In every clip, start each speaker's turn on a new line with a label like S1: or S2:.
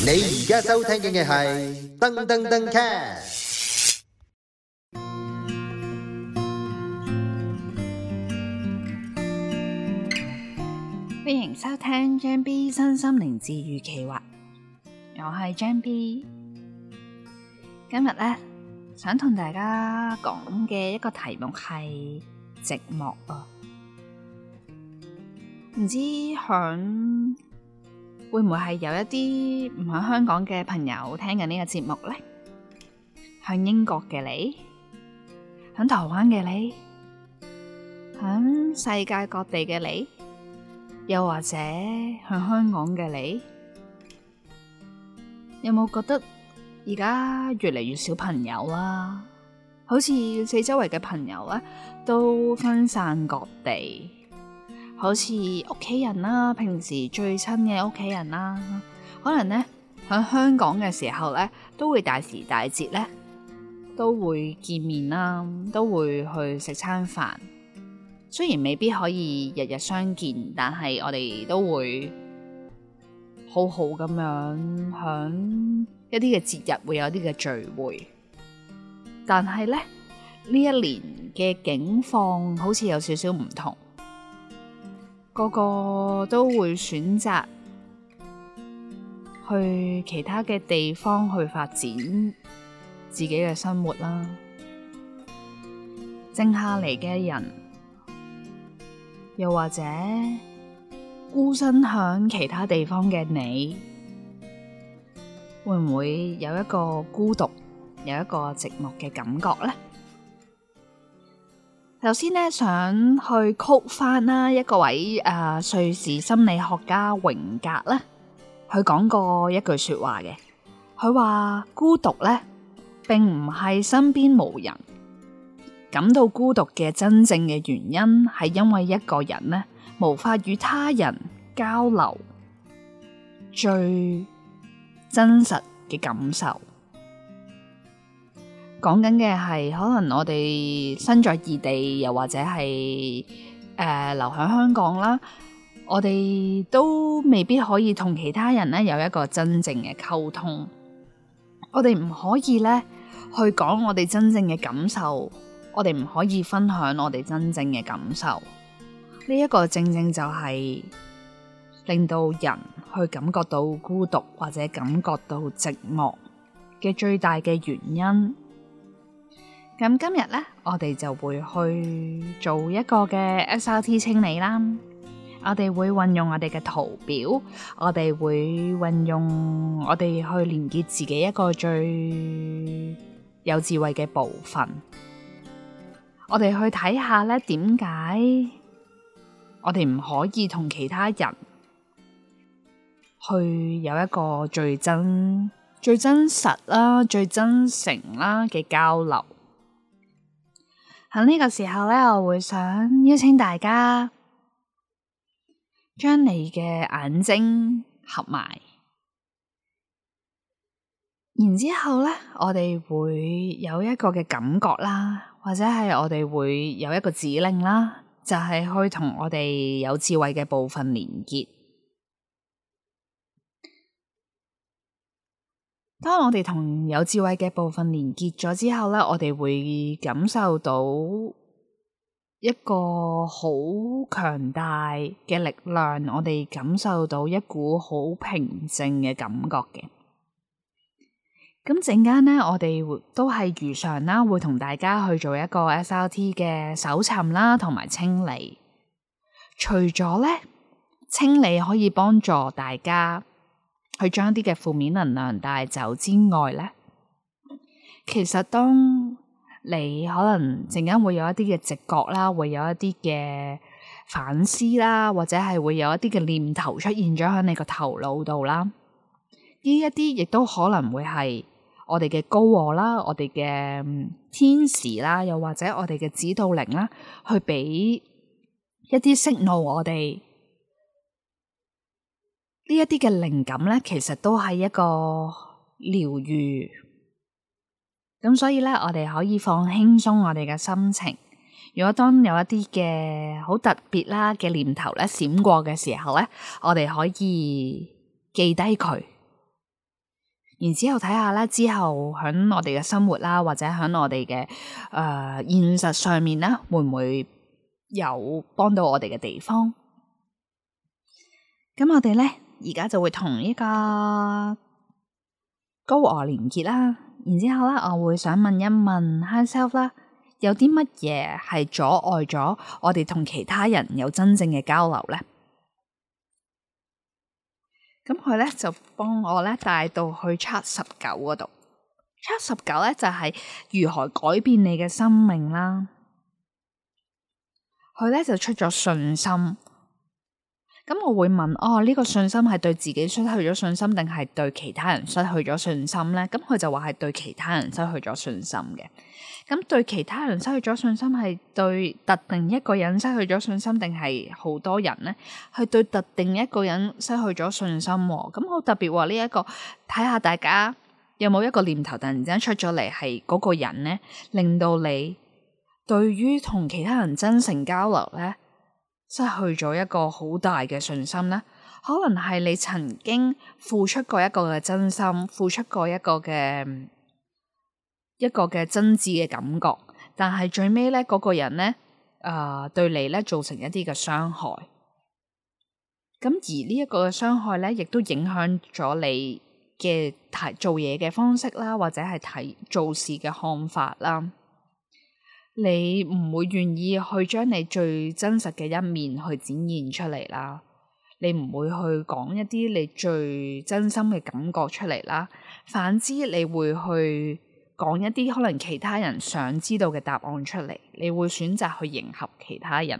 S1: 你而家收聽嘅係噔噔噔 cast。
S2: 歡迎收聽張 B 身心靈治癒企劃，我係張 B。今日咧想同大家講嘅一個題目係寂寞啊，唔知響會唔會係有一啲唔喺香港嘅朋友聽緊呢個節目呢？響英國嘅你，響台灣嘅你，響世界各地嘅你，又或者響香港嘅你，有冇覺得而家越嚟越少朋友啦？好似四周圍嘅朋友咧都分散各地，好似屋企人啦，平時最親嘅屋企人啦，可能咧喺香港嘅時候咧都會大時大節咧都會見面啦，都會去食餐飯。雖然未必可以日日相見，但係我哋都會好好咁樣響一啲嘅節日會有啲嘅聚會。但係咧呢一年嘅境況好似有少少唔同，個個都會選擇去其他嘅地方去發展自己嘅生活啦。靜下嚟嘅人，又或者孤身響其他地方嘅你，會唔會有一個孤獨，有一個寂寞嘅感覺呢？首先呢，想去quote翻啦一個位瑞士心理學家榮格咧，佢講過一句說話嘅，佢話孤獨咧並唔係身邊無人，感到孤獨嘅真正嘅原因係因為一個人呢無法與他人交流最真實嘅感受。講緊嘅係可能我哋身在異地，又或者係留喺香港啦，我哋都未必可以同其他人呢有一個真正嘅溝通。我哋唔可以呢去講我哋真正嘅感受，我哋唔可以分享我哋真正嘅感受。呢一個正正就係令到人去感覺到孤獨或者感覺到寂寞嘅最大嘅原因。咁今日呢，我哋就會去做一個嘅 SRT 清理啦。我哋會運用我哋嘅圖表，我哋會運用我哋去連結自己一個最有智慧嘅部分。我哋去睇下呢，點解我哋唔可以同其他人去有一個最真實啦、最真誠啦嘅交流。喺呢個時候呢，我會想邀請大家將你嘅眼睛合埋，然之後呢，我哋會有一個嘅感覺啦，或者係我哋會有一個指令啦，就係去同我哋有智慧嘅部分連結。當我哋同有智慧嘅部分連結咗之後呢，我哋會感受到一個好強大嘅力量，我哋感受到一股好平靜嘅感覺嘅。咁陣間呢，我哋都係如常啦，會同大家去做一個 SRT 嘅搜尋啦，同埋清理。除咗呢，清理可以幫助大家去將啲嘅負面能量帶走之外呢，其實當你可能陣間會有一啲嘅直覺啦，會有一啲嘅反思啦，或者係會有一啲嘅念頭出現咗喺你個頭腦度啦。呢一啲亦都可能會係我哋嘅高我啦，我哋嘅天使啦，又或者我哋嘅指導靈啦，去俾一啲signal我哋。呢一啲嘅靈感咧，其實都係一個療癒。咁所以咧，我哋可以放輕鬆我哋嘅心情。如果當有一啲嘅好特別啦嘅念頭咧閃過嘅時候咧，我哋可以記低佢， 然之後睇下咧，之後喺我哋嘅生活啦，或者喺我哋嘅現實上面咧，會唔會有幫到我哋嘅地方？咁我哋咧而家就會同呢個高我連結啦。然之後咧，我會想問一問 High Self 啦，有啲乜嘢係阻礙咗我哋同其他人有真正嘅交流咧？咁佢咧就幫我咧帶到去 Chart 19嗰度。Chart 19咧就係如何改變你嘅生命啦。佢咧就出咗信心。咁我會問，呢個信心係對自己失去咗信心，定係對其他人失去咗信心咧？咁佢就話係對其他人失去咗信心嘅。咁對其他人失去咗信心，係對特定一個人失去咗信心，定係好多人咧？係對特定一個人失去咗信心。咁好特別喎，呢一個睇下大家有冇一個念頭突然之間出咗嚟，係嗰個人咧，令到你對於同其他人真誠交流咧，失去咗一個好大嘅信心咧。可能係你曾經付出過一個嘅真心，付出過一個嘅真摯嘅感覺，但係最尾咧嗰個人咧，對你咧造成一啲嘅傷害。咁而呢一個嘅傷害咧，亦都影響咗你嘅做嘢嘅方式啦，或者係做事嘅看法啦。你唔會願意去將你最真實嘅一面去展現出嚟啦。你唔會去講一啲你最真心嘅感覺出嚟啦。反之，你會去講一啲可能其他人想知道嘅答案出嚟。你會選擇去迎合其他人。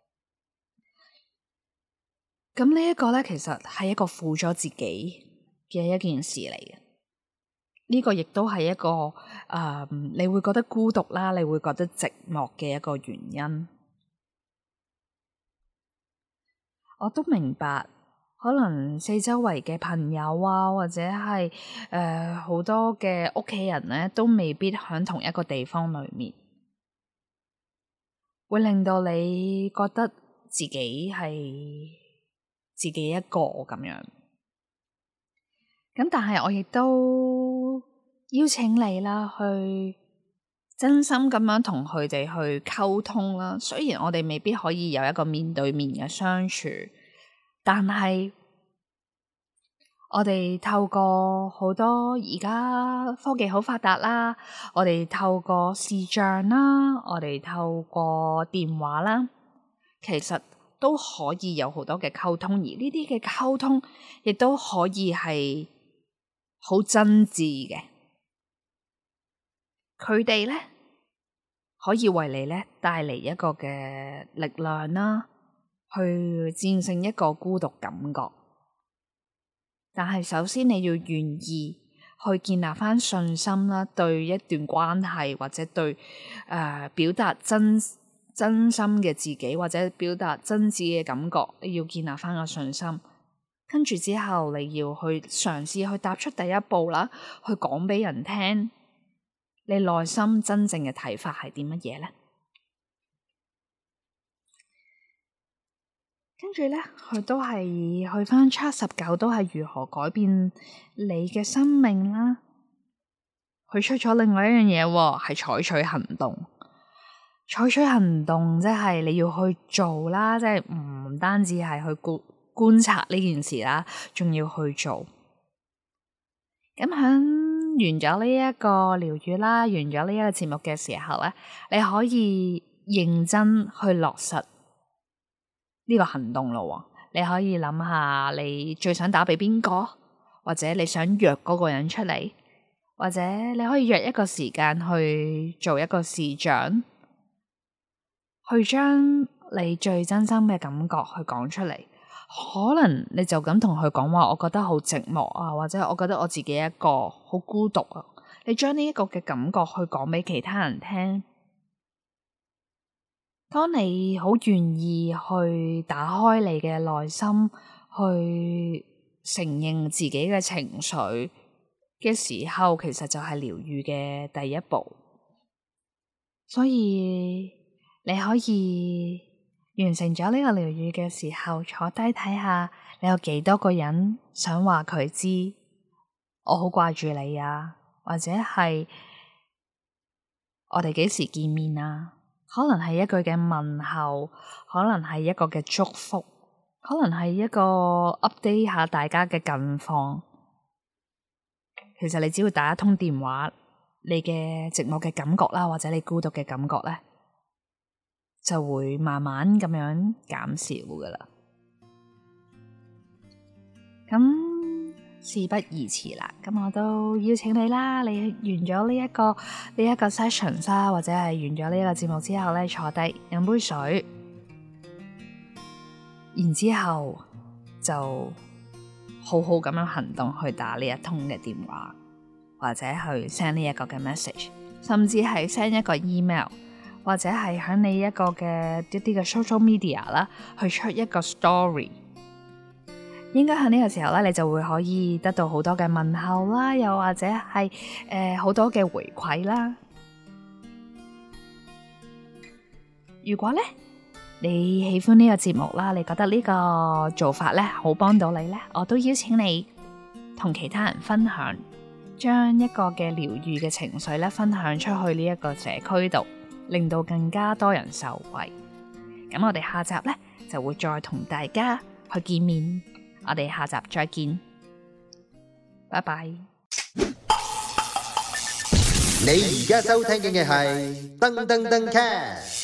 S2: 咁呢一個咧，其實係一個負咗自己嘅一件事嚟嘅。呢個亦都係一個你會覺得孤獨啦，你會覺得寂寞嘅一個原因。我都明白，可能四周圍嘅朋友啊，或者係好多嘅屋企人咧，都未必喺同一個地方裏面，會令到你覺得自己係自己一個咁樣。咁但係我亦都邀請你啦，去真心咁樣同佢哋去溝通啦。雖然我哋未必可以有一個面對面嘅相處，但係我哋透過好多而家科技好發達啦，我哋透過視像啦，我哋透過電話啦，其實都可以有好多嘅溝通，而呢啲嘅溝通亦都可以係好真摯嘅。佢哋咧可以為你咧帶嚟一個嘅力量啦，去戰勝一個孤獨感覺。但係首先你要願意去建立翻信心啦，對一段關係或者對表達真心嘅自己，或者表達真摯嘅感覺，你要建立翻個信心。跟住之後你要去嘗試去踏出第一步啦，去講俾人聽你內心真正嘅睇法係啲乜嘢咧？跟住咧，佢都係去翻 Chart 19，都係如何改變你嘅生命啦。佢出咗另外一樣嘢，係採取行動。採取行動即係你要去做啦，即係唔單止係去觀察呢件事啦，仲要去做。咁響完咗呢一個療癒啦，完咗呢一個節目嘅時候咧，你可以認真去落實呢個行動咯。你可以諗下你最想打俾邊個，或者你想約嗰個人出嚟，或者你可以約一個時間去做一個視像，去將你最真心嘅感覺去講出嚟。可能你就咁同佢講話，我覺得好寂寞啊，或者我覺得我自己一個好孤獨啊。你將呢一個嘅感覺去講俾其他人聽。當你好願意去打開你嘅內心，去承認自己嘅情緒嘅時候，其實就係療癒嘅第一步。所以你可以完成咗呢個療癒嘅時候，坐低睇下你有幾多個人想話佢知， 我好掛住你啊，或者係我哋幾時見面啊？可能係一句嘅問候，可能係一個嘅祝福，可能係一個 update 下大家嘅近況。其實你只要打一通電話，你嘅寂寞嘅感覺啦，或者你孤獨嘅感覺咧，就會慢慢咁樣減少噶啦。咁事不宜遲啦，咁我都邀請你啦。你完咗呢一個 session 啦，或者係完咗呢一個節目之後咧，坐低飲杯水，然之後就好好咁樣行動去打呢一通嘅電話，或者去 send 呢一個嘅 message， 甚至係 send 一個 email， 或者係喺你一個嘅一啲嘅 social media 啦，去出一個 story。應該喺呢個時候咧，你就會可以得到好多嘅問候啦，又或者係好多嘅回饋啦。如果咧你喜歡呢個節目啦，你覺得呢個做法咧好幫到你咧，我都邀請你同其他人分享，將一個嘅療癒嘅情緒咧分享出去呢一個社區度，令到更加多人受惠。咁我哋下集咧就會再同大家去見面。我哋下集再見，拜拜。
S1: 你而家收聽嘅係噔噔噔 cast。